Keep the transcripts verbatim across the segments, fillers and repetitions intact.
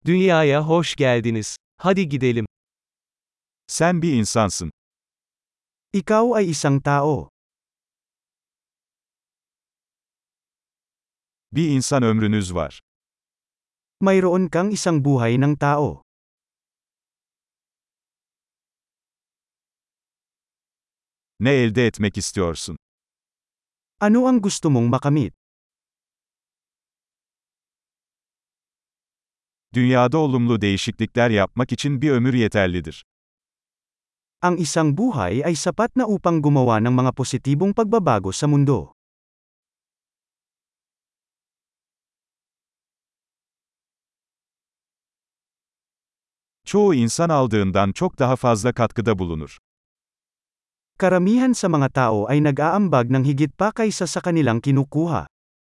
Dünyaya hoş geldiniz. Hadi gidelim. Sen bir insansın. Ikaw ay isang tao. Bir insan ömrünüz var. Mayroon kang isang buhay ng tao. Ne elde etmek istiyorsun? Ano ang gusto mong makamit? Dünyada olumlu değişiklikler yapmak için bir ömür yeterlidir. Ang isang buhay ay sapat na upang gumawa ng mga positibong pagbabago sa mundo. Çoğu insan aldığından çok daha fazla katkıda bulunur. Karamihan sa mga tao ay nag-aambag ng higit pa kaysa sa kanilang kinukuha.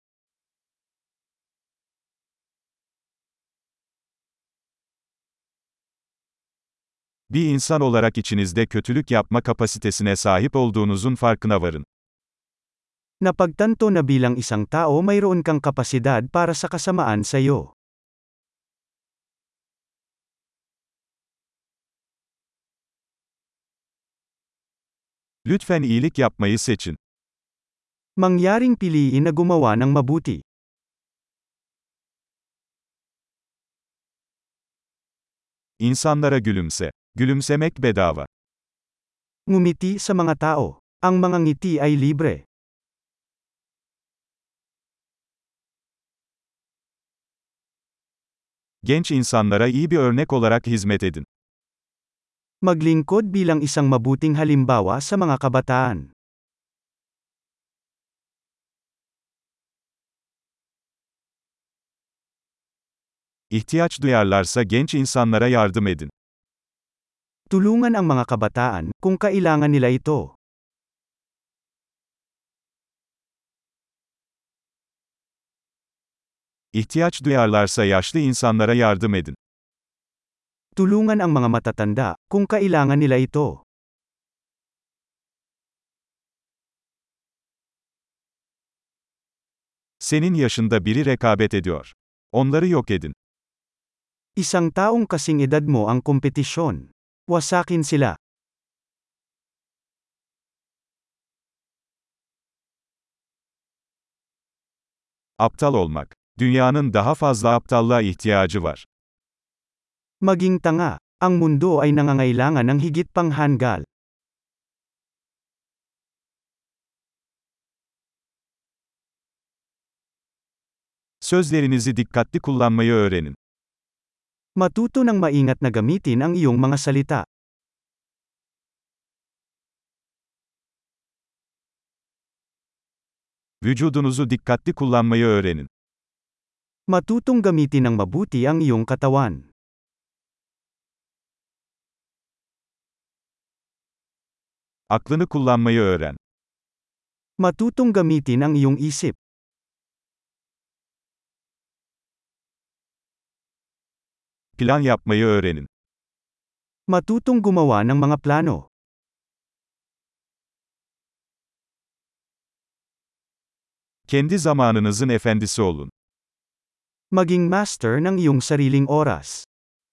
Bir insan olarak içinizde kötülük yapma kapasitesine sahip olduğunuzun farkına varın. Napagtanto na bilang isang tao mayroon kang kapasidad para sa kasamaan sa iyo. Lütfen iyilik yapmayı seçin. Mangyaring piliin na gumawa ng mabuti. İnsanlara gülümse. Gülümsemek bedava. Ngumiti sa mga tao. Ang mga ngiti ay libre. Genç insanlara iyi bir örnek olarak hizmet edin. Maglingkod bilang isang mabuting halimbawa sa mga kabataan. İhtiyaç duyarlarsa genç insanlara yardım edin. Tulungan ang mga kabataan kung kailangan nila ito. İhtiyaç duyarlarsa yaşlı insanlara yardım edin. Tulungan ang mga matatanda kung kailangan nila ito. Senin yaşında biri rekabet ediyor. Onları yok edin. Isang taong kasing edad mo ang kompetisyon. Wasakin sila. Aptal olmak. Dünyanın daha fazla aptallığa ihtiyacı var. Maging tanga. Ang mundo ay nangangailangan ng higit pang hanggal. Sözlerinizi dikkatli kullanmayı öğrenin. Matuto ng maingat na gamitin ang iyong mga salita. Vücudunuzu dikkatli kullanmayı öğrenin. Matutong gamitin ng mabuti ang iyong katawan. Aklını kullanmayı öğren. Matutong gamitin ang iyong isip. Plan yapmayı öğrenin. Matutong gumawa ng mga plano. Kendi zamanınızın efendisi olun. Maging master ng iyong sariling oras.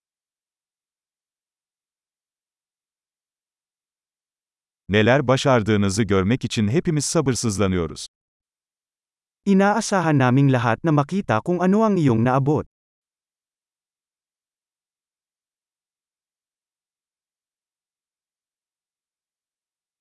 Neler başardığınızı görmek için hepimiz sabırsızlanıyoruz. Inaasahan naming lahat na makita kung ano ang iyong naabot.